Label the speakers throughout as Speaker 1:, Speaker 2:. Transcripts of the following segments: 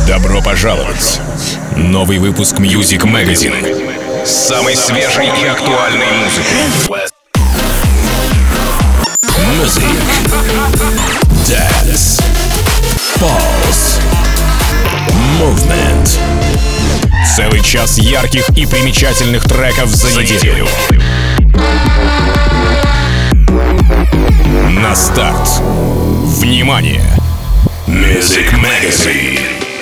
Speaker 1: Добро пожаловать! Новый выпуск Music Magazine с самой свежей и актуальной музыкой. Music, Dance, Pulse, Movement. Целый час ярких и примечательных треков за неделю. На старт. Внимание! Music Magazine.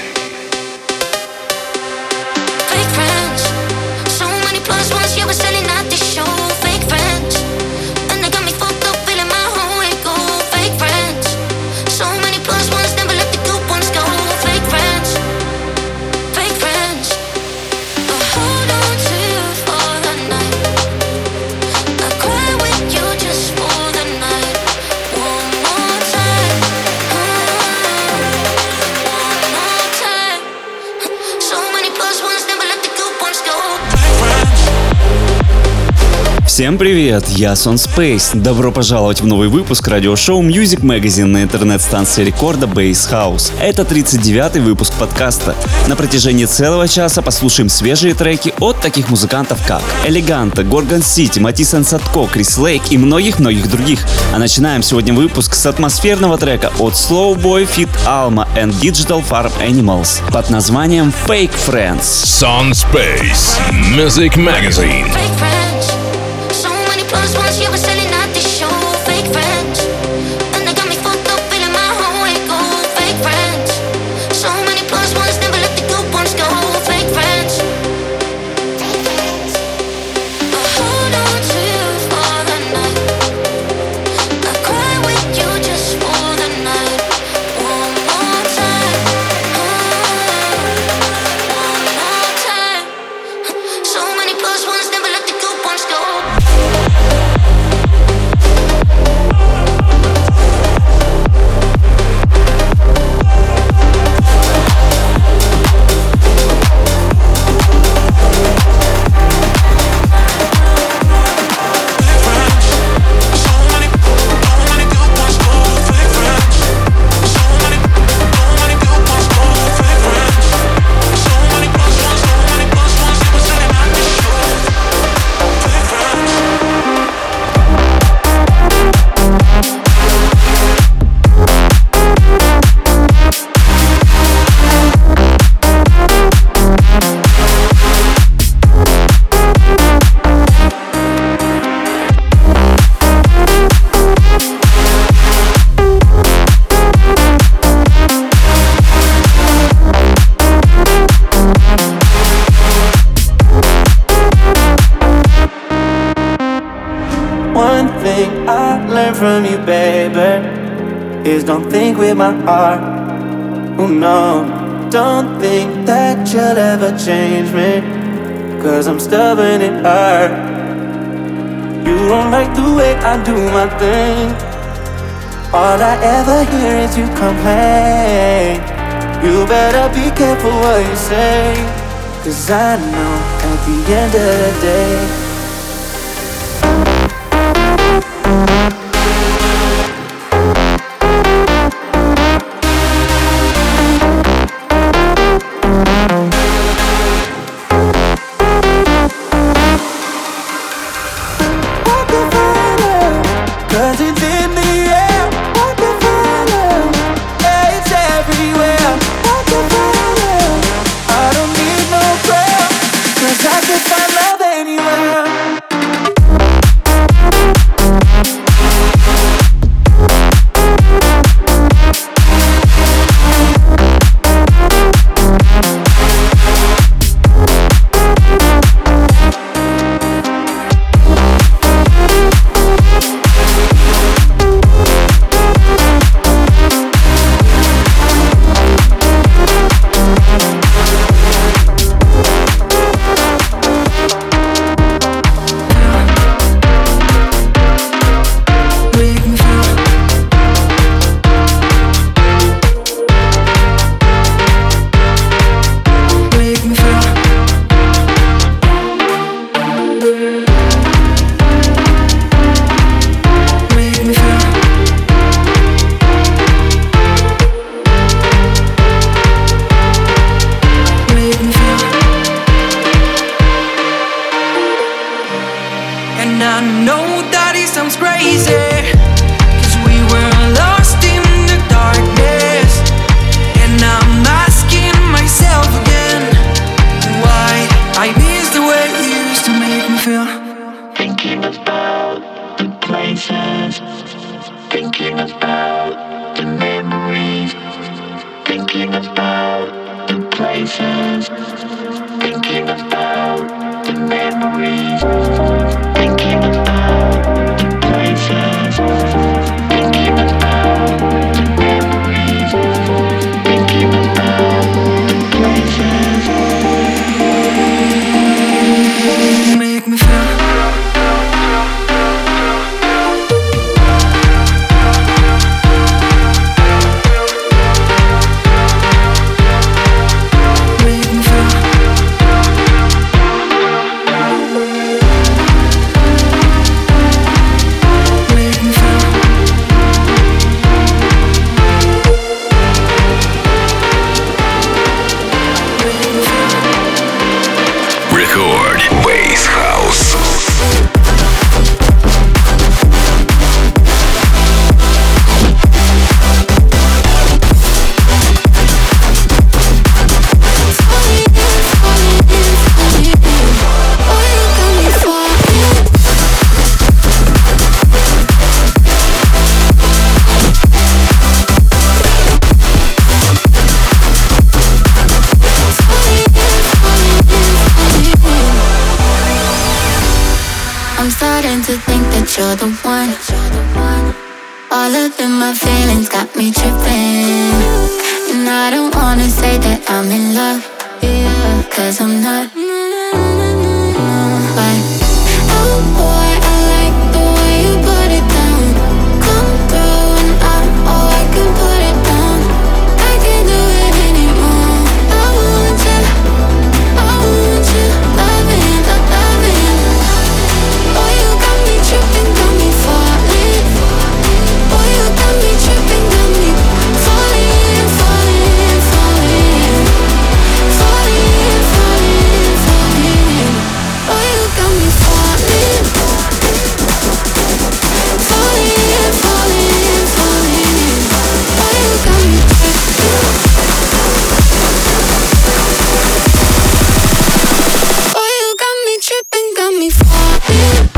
Speaker 2: Всем привет, я Сон Space. Добро пожаловать в новый выпуск радиошоу Music Magazine на интернет-станции рекорда Bass House. Это 39-й выпуск подкаста. На протяжении целого часа послушаем свежие треки от таких музыкантов как Элеганта, Gorgon City, Матис энд Садко, Крис Лейк и многих-многих других. А начинаем сегодня выпуск с атмосферного трека от Slowboy feat. Alma and Digital Farm Animals под названием Fake Friends.
Speaker 1: Сон Space Music Magazine.
Speaker 3: Once you were selling out this show, fake friends, and they got me fucked up, feeling my whole way go, fake friends. So many plus ones, never let the good ones go, fake friends. I hold on to you for the night. I cry with you just for the night. One more time, one more time. So many plus ones, never let the good ones go.
Speaker 4: One thing I learned from you, baby, is don't think with my heart. Oh no, don't think that you'll ever change me, 'cause I'm stubborn at heart. You don't like the way I do my thing. All I ever hear is you complain. You better be careful what you say, 'cause I know at the end of the day I could find love anywhere.
Speaker 3: I'm starting to think that you're the one. All up in my feelings got me tripping. And I don't wanna say that I'm in love, yeah, 'cause I'm not. But oh boy, I like the way you put it down. Come through and I can put it down. I can't do it anymore. I want you, loving. Oh, you got me tripping, got me falling. Oh, you got me tripping, got me falling. Oh, you got me falling. Oh, you got me tripping. Oh, you got me tripping, got me falling.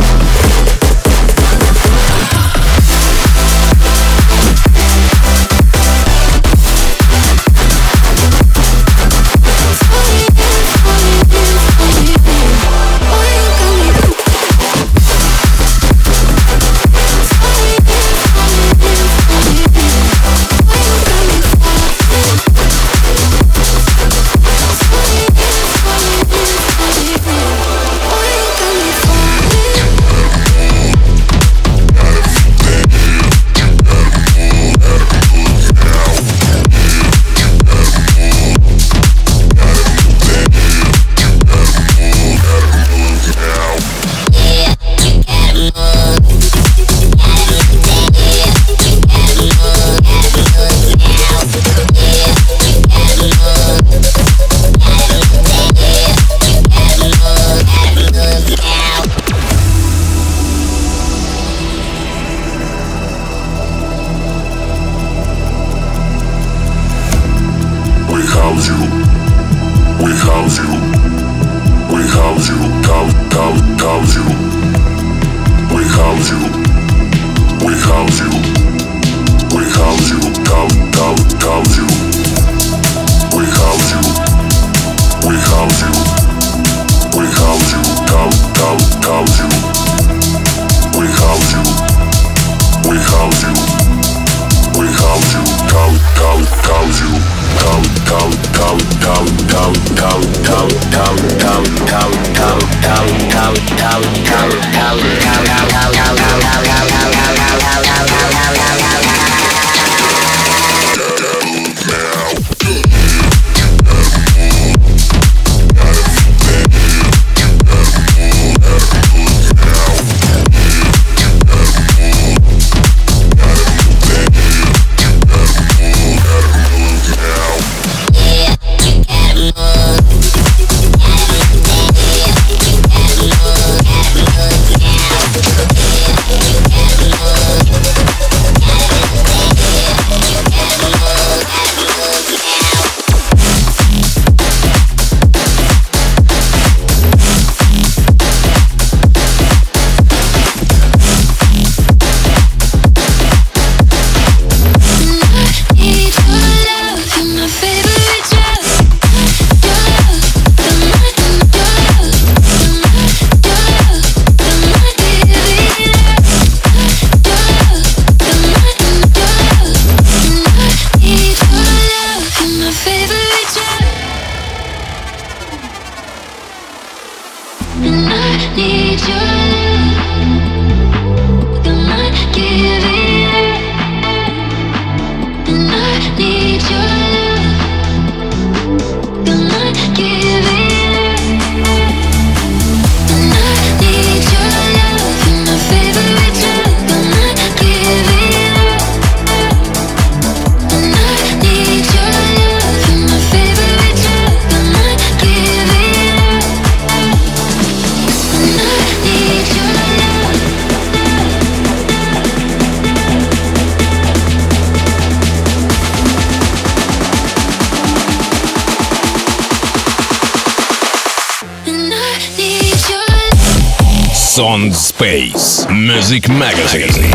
Speaker 1: Sound Space Music Magazine.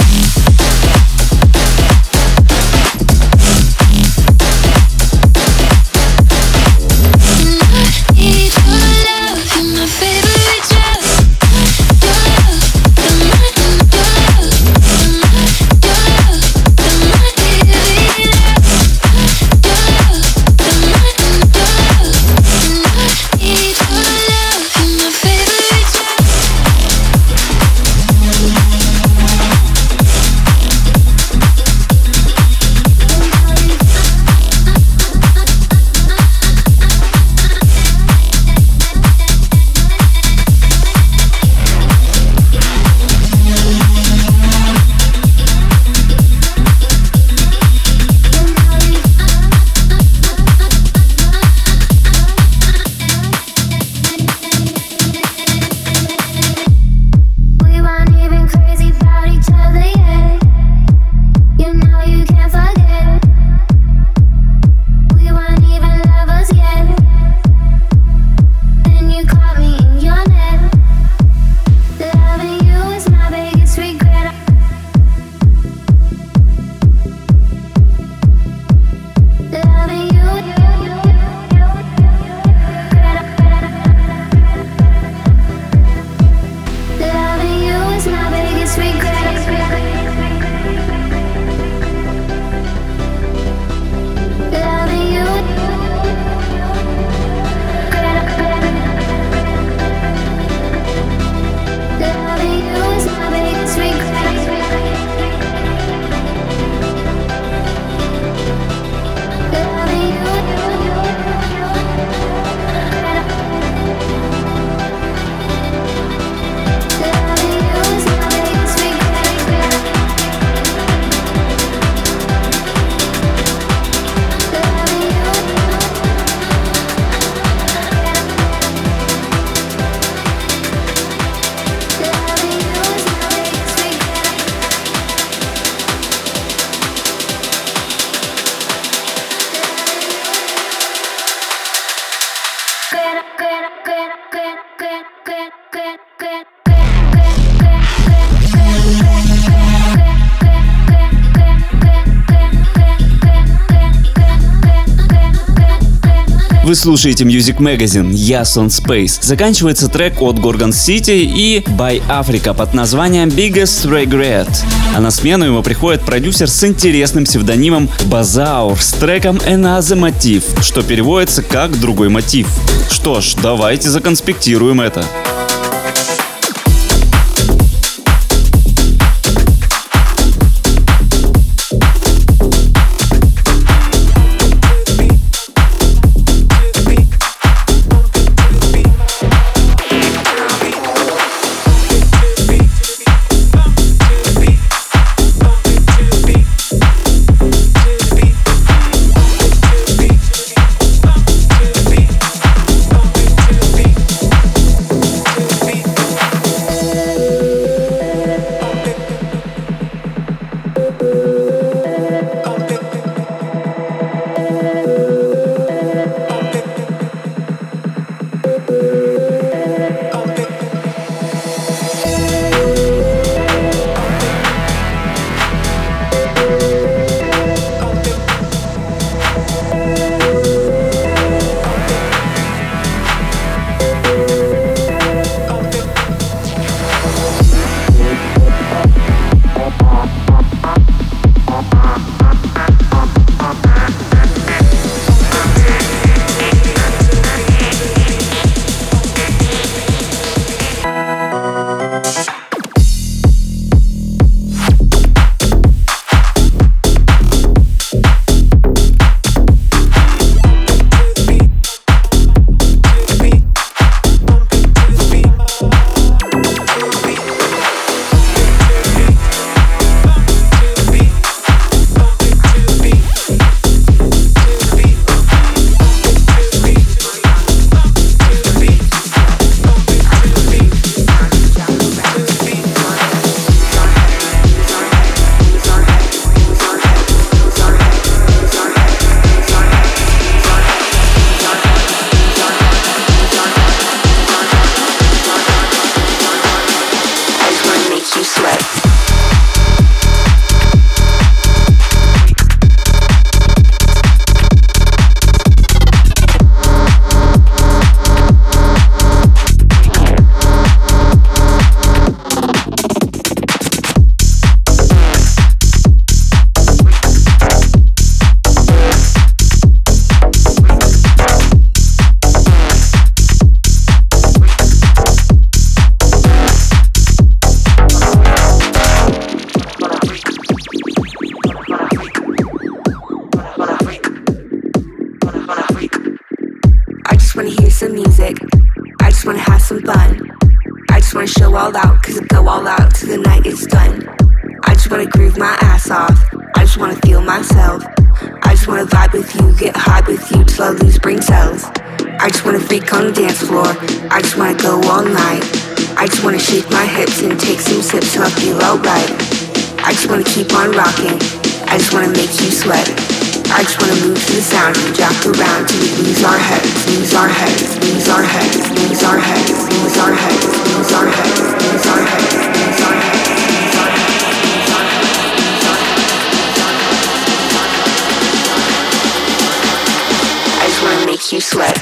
Speaker 2: Вы слушаете Music Magazine, я Sound Space. Заканчивается трек от Gorgon City и By Africa под названием Biggest Regret. А на смену ему приходит продюсер с интересным псевдонимом Базаур с треком Another Motif, что переводится как «другой мотив». Что ж, давайте законспектируем это.
Speaker 5: wanna hear some music. I just wanna have some fun. I just wanna show all out, cause I go all out till the night is done. I just wanna groove my ass off. I just wanna feel myself. I just wanna vibe with you, get high with you till I lose brain cells. I just wanna freak on the dance floor. I just wanna go all night. I just wanna shake my hips and take some sips till I feel alright. I just wanna keep on rocking. I just wanna make you sweat. I just wanna move to the sound and jack around till we lose our heads, lose our heads, lose our heads, lose our heads, lose our heads, lose our heads, lose our heads, lose our heads. I just wanna make you sweat.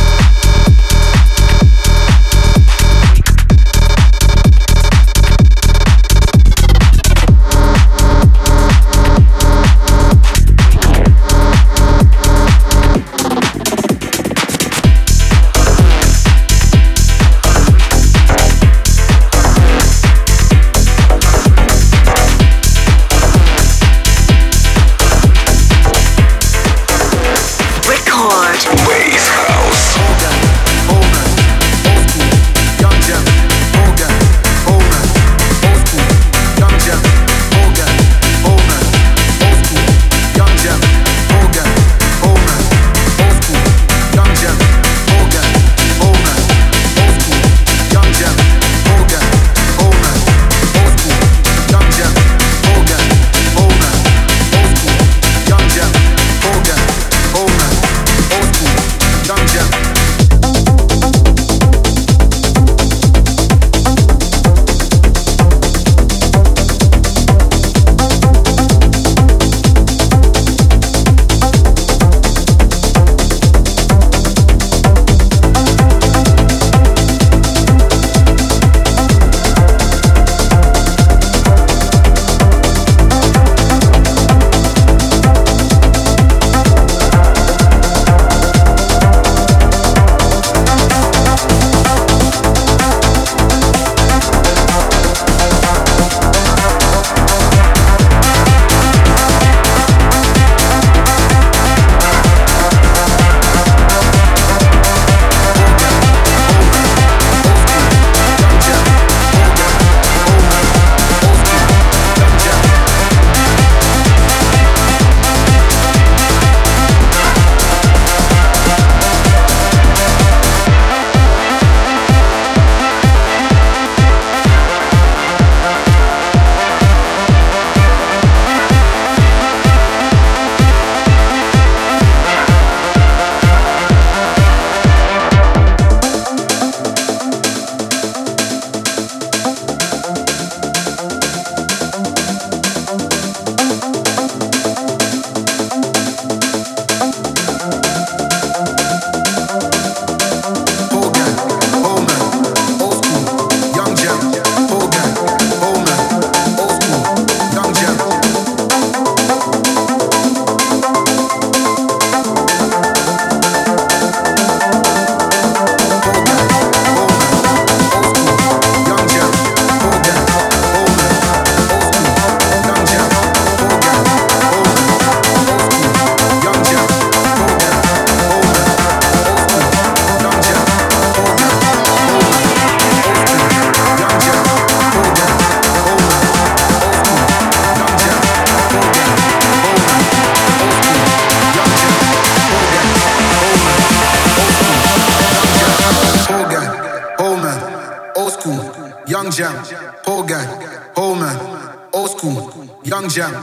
Speaker 6: Jam.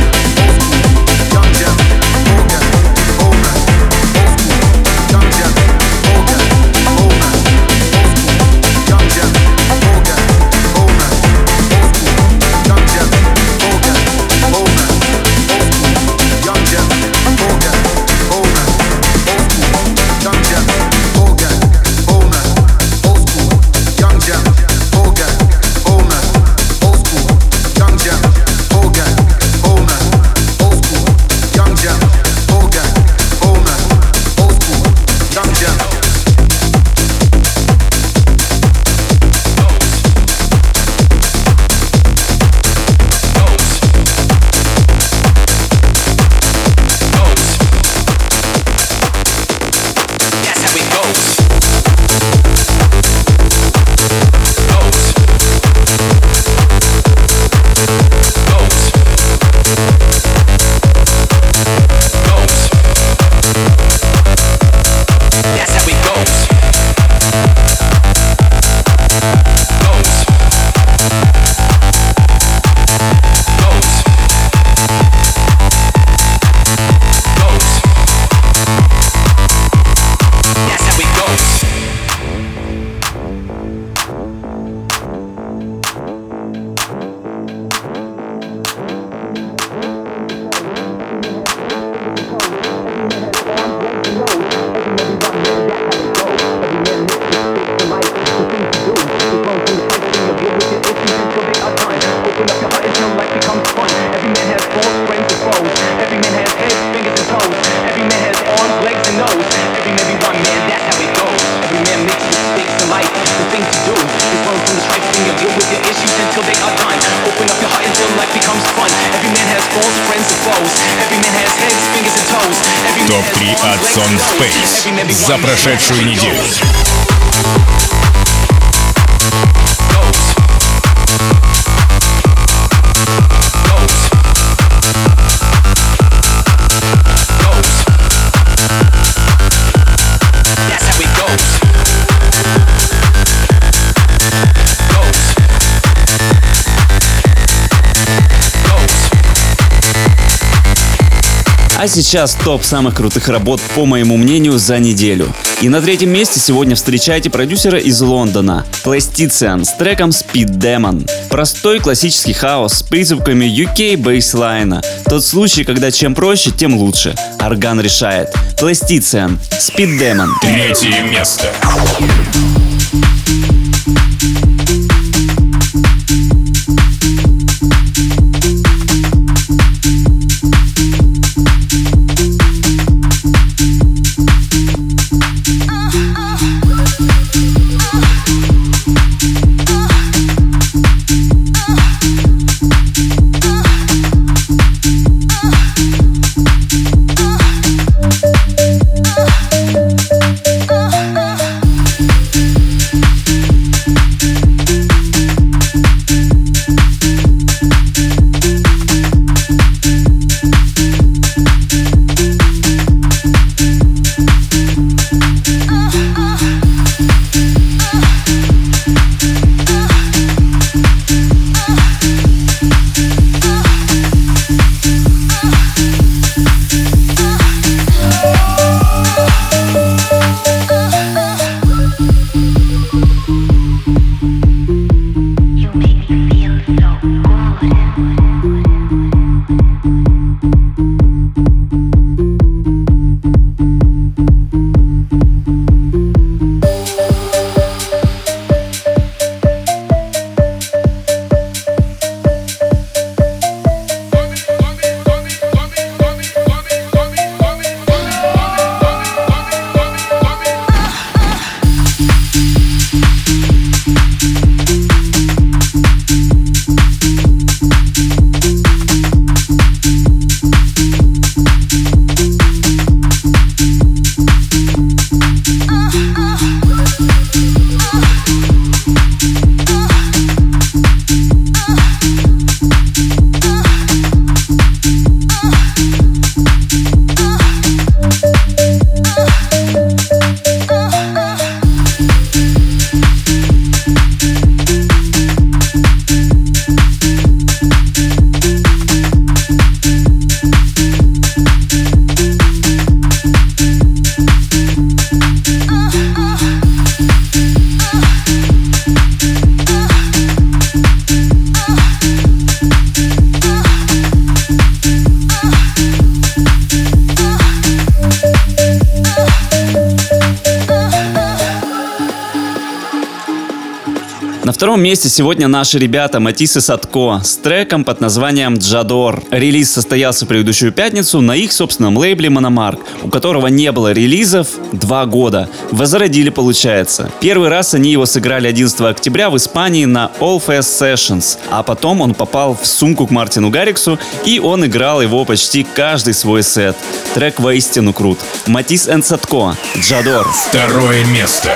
Speaker 6: Young Jam.
Speaker 1: Топ-3 от Сон Space за прошедшую неделю.
Speaker 2: А сейчас топ самых крутых работ, по моему мнению, за неделю. И на третьем месте сегодня встречайте продюсера из Лондона, Plastician с треком Speed Demon. Простой классический хаос с призывками UK бейслайна. Тот случай, когда чем проще, тем лучше. Орган решает. Plastician, Speed Demon.
Speaker 1: Третье место.
Speaker 2: На втором месте сегодня наши ребята Матис и Садко с треком под названием «Джадор». Релиз состоялся в предыдущую пятницу на их собственном лейбле Мономарк, у которого не было релизов 2 года. Возродили, получается. Первый раз они его сыграли 11 октября в Испании на All Fest Sessions, а потом он попал в сумку к Мартину Гарриксу, и он играл его почти каждый свой сет. Трек воистину крут. Матис и Садко, «Джадор».
Speaker 1: Второе место.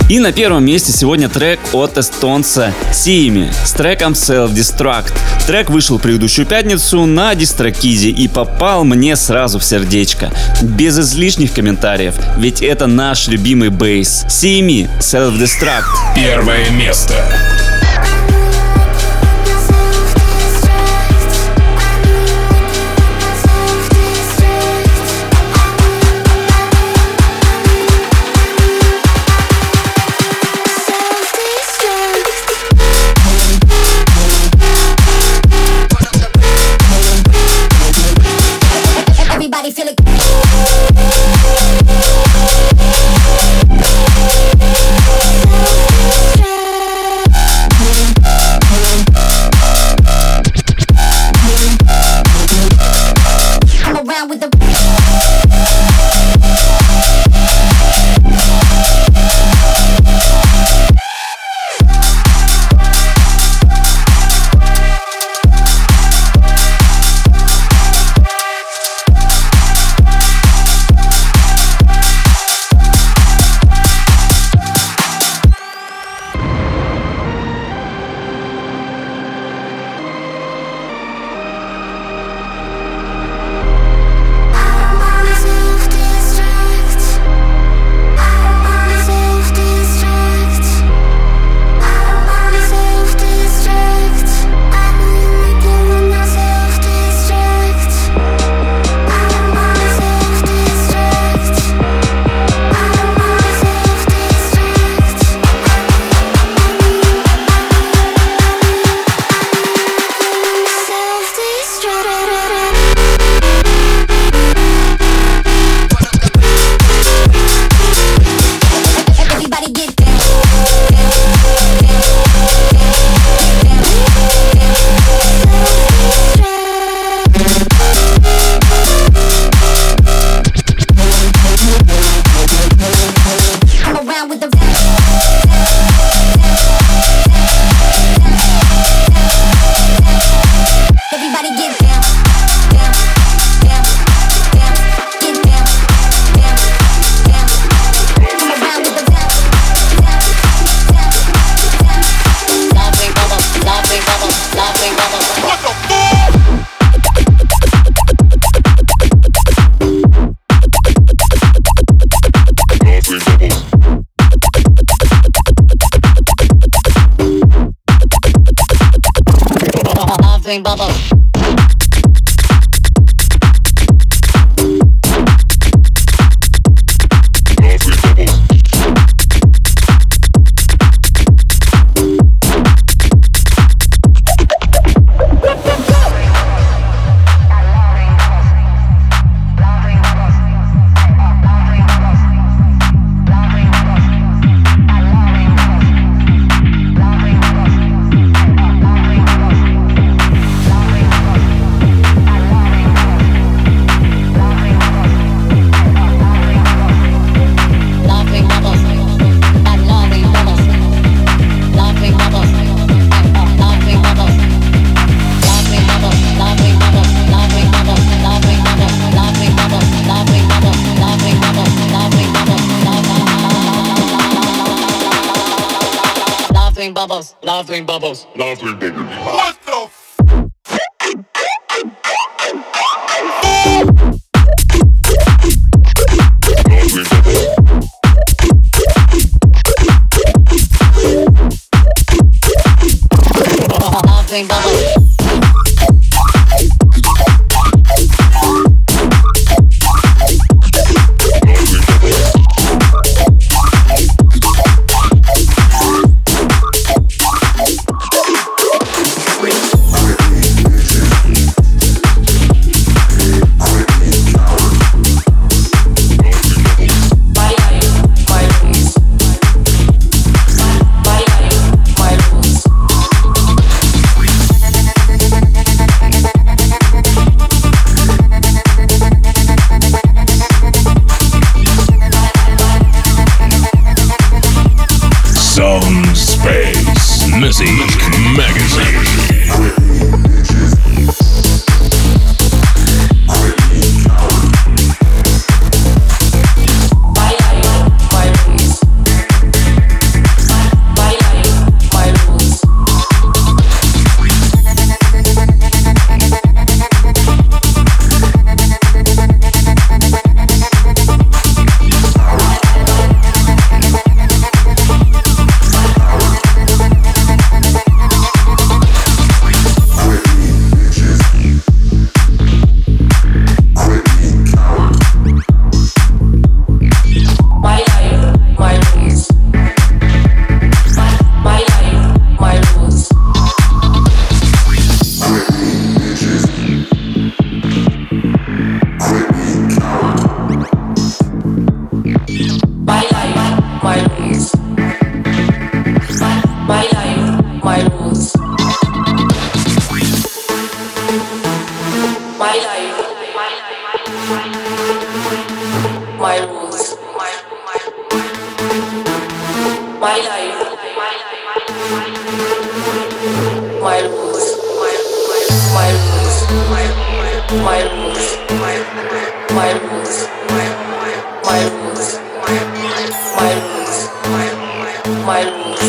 Speaker 2: И на первом месте сегодня трек от эстонца Siimi с треком Self-Destruct. Трек вышел предыдущую пятницу на Дистрокиде и попал мне сразу в сердечко. Без излишних комментариев, ведь это наш любимый бейс. Siimi, Self-Destruct.
Speaker 1: Первое место.
Speaker 7: Laughing bubbles.
Speaker 6: What the
Speaker 7: laughing bubbles.
Speaker 8: My life, my rules, my life, my rules, my rules, my rules, my rules, my rules, my rules, my rules.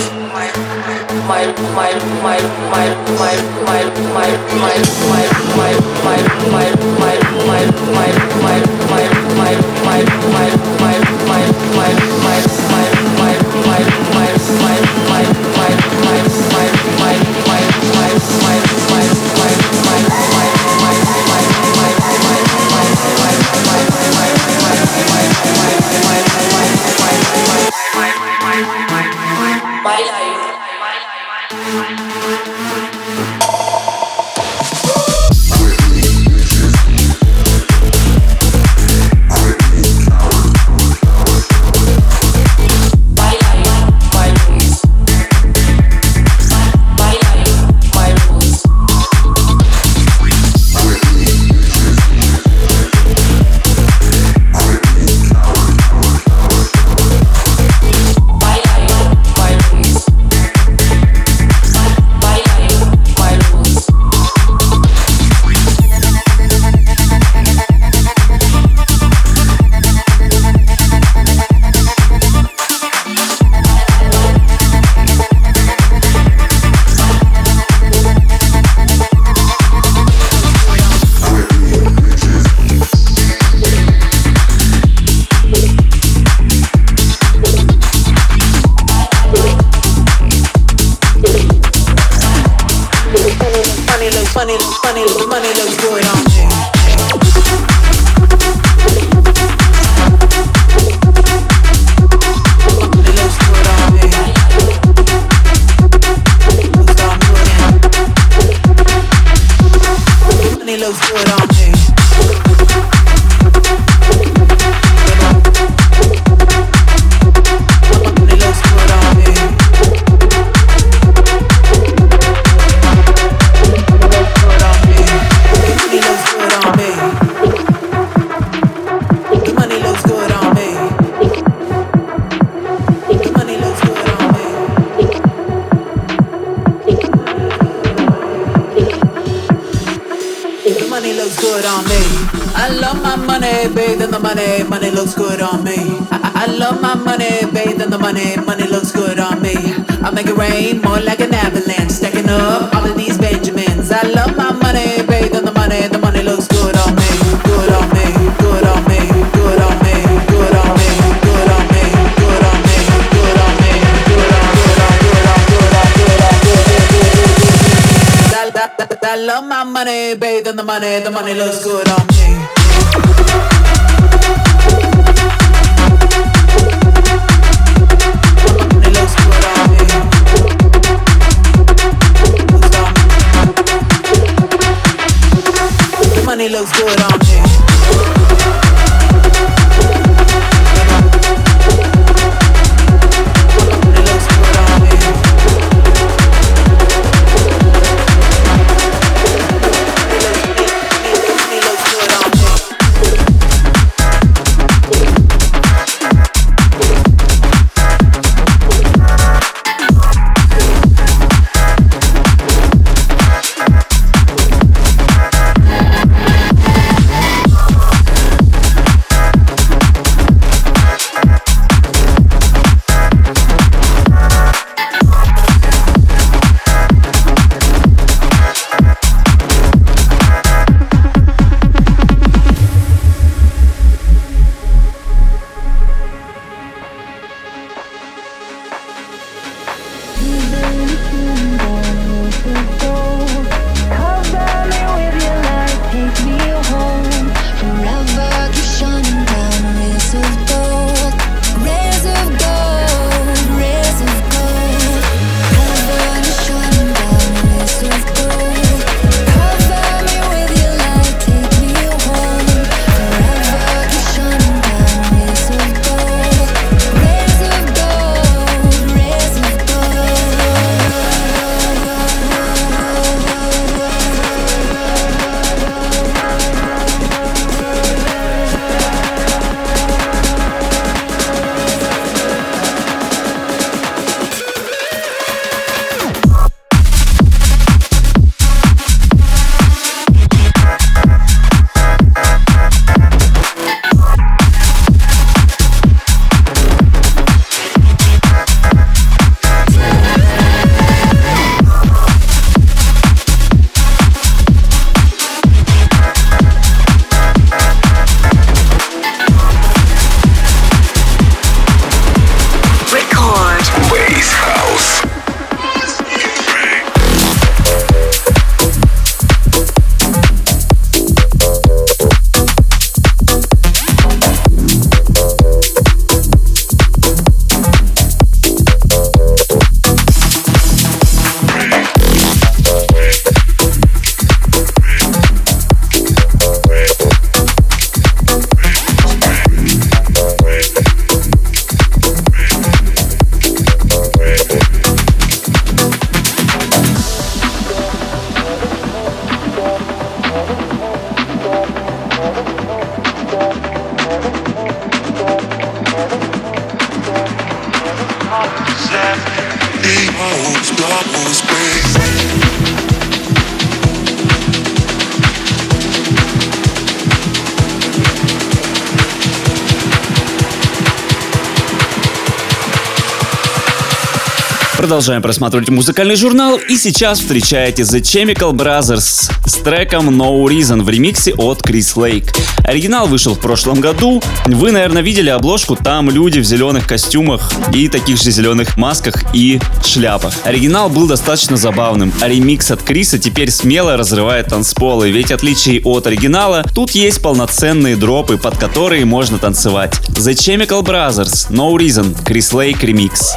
Speaker 8: Money looks good on me. Money looks good on me. Money looks good on me. I love my money, bathe in the money, money looks good on me. I love my money, bathe in the money, money looks good on me. I make it rain more like an avalanche, stacking up all of these Benjamins. I love my money, bathe in the money looks good on me, good on me, good on me, good on me, good on me, good on me, good on me, good on me, good on. I love my money, bathe in the money looks good on me. Money looks good on me.
Speaker 2: Продолжаем просматривать музыкальный журнал, и сейчас встречаете The Chemical Brothers с треком No Reason в ремиксе от Крис Лейк. Оригинал вышел в прошлом году. Вы, наверное, видели обложку, там люди в зеленых костюмах и таких же зеленых масках и шляпах. Оригинал был достаточно забавным, а ремикс от Криса теперь смело разрывает танцполы, ведь в отличие от оригинала, тут есть полноценные дропы, под которые можно танцевать. The Chemical Brothers, No Reason, Крис Лейк ремикс.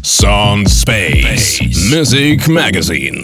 Speaker 1: Sound Space Music Magazine.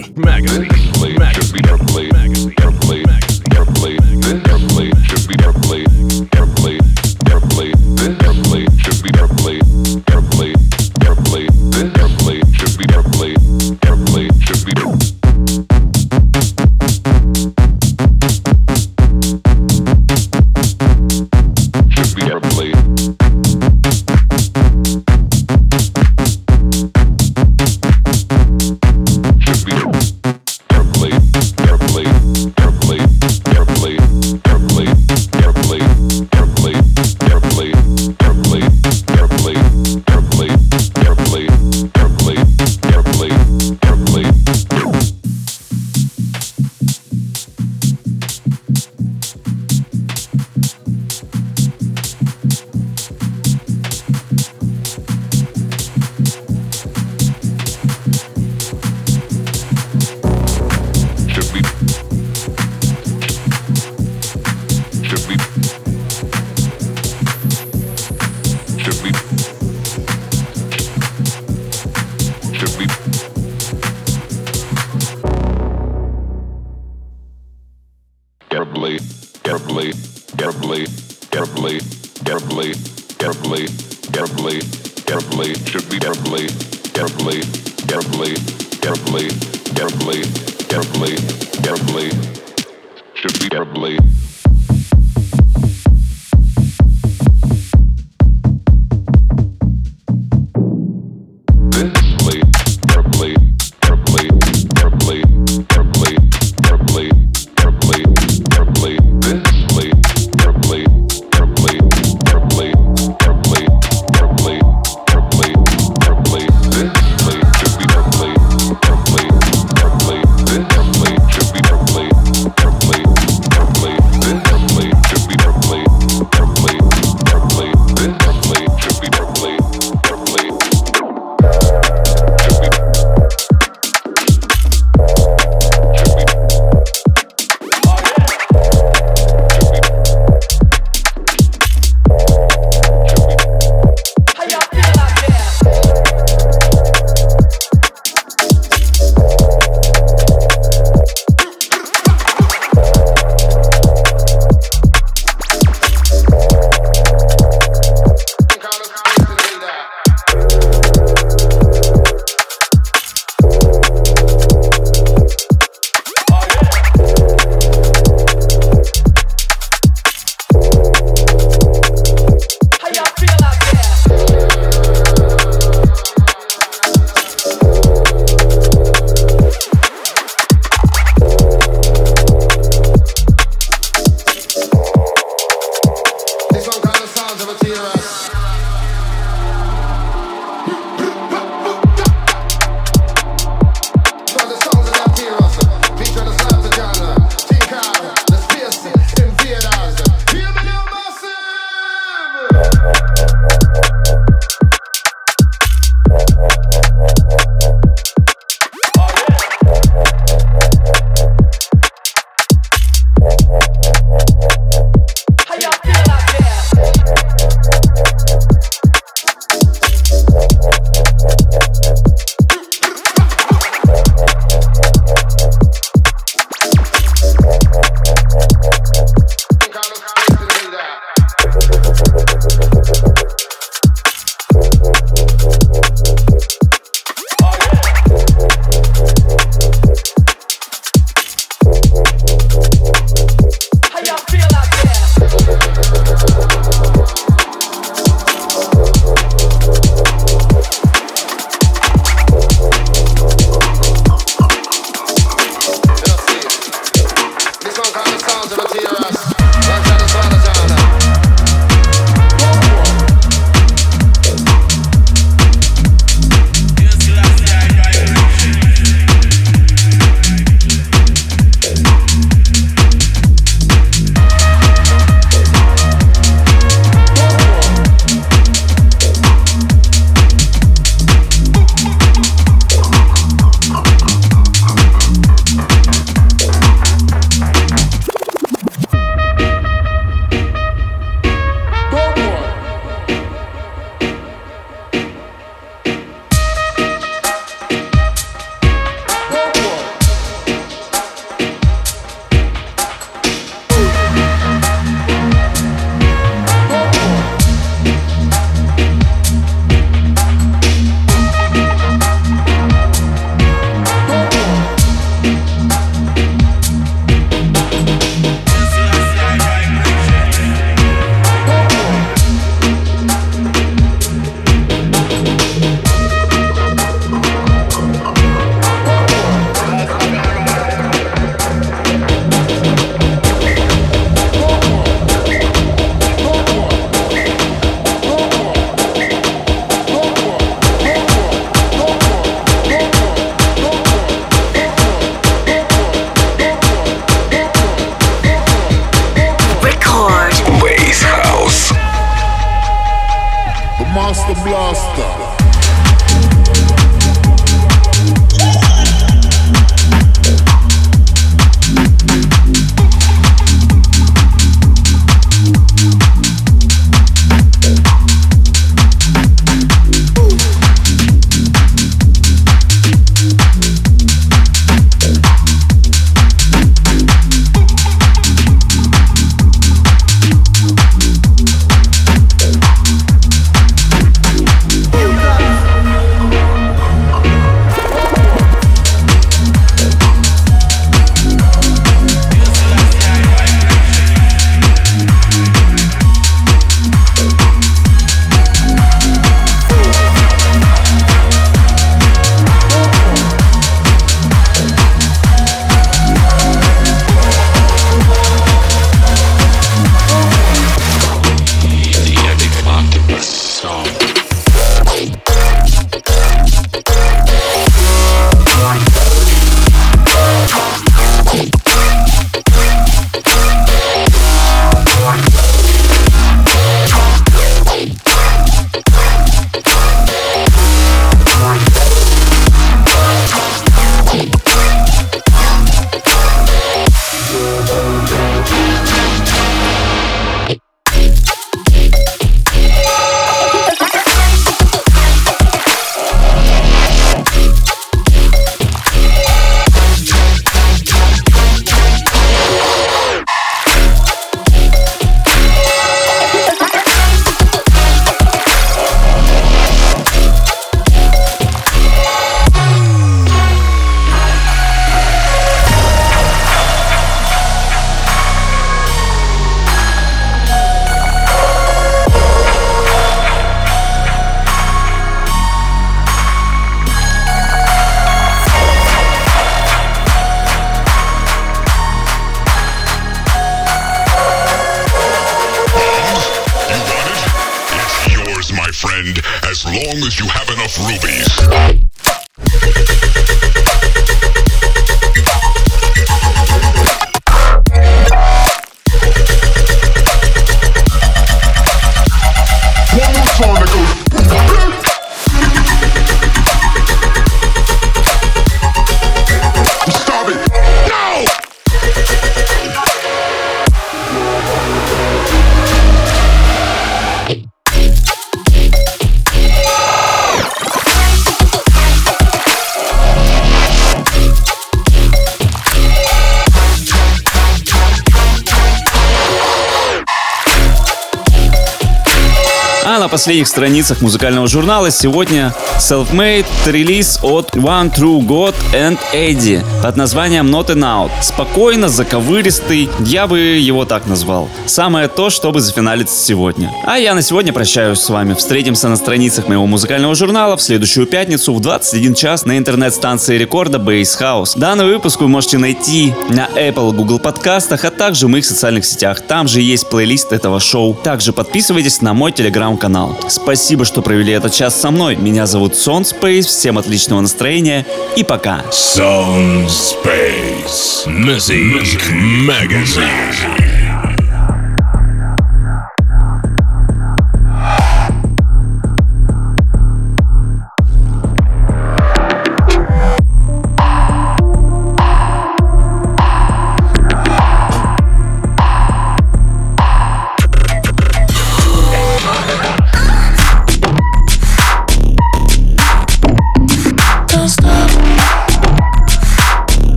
Speaker 2: А на последних страницах музыкального журнала сегодня Self-Made релиз от One True God and Eddie под названием Not an Out. Спокойно, заковыристый, я бы его так назвал. Самое то, чтобы зафиналиться сегодня. А я на сегодня прощаюсь с вами. Встретимся на страницах моего музыкального журнала в следующую пятницу в 21 час на интернет-станции рекорда Bass House. Данный выпуск вы можете найти на Apple, Google подкастах, а также в моих социальных сетях. Там же есть плейлист этого шоу. Также подписывайтесь на мой телеграм-канал. Спасибо, что провели этот час со мной. Меня зовут Сон Спейс. Всем отличного настроения и пока.
Speaker 1: Sound Space Music Magazine.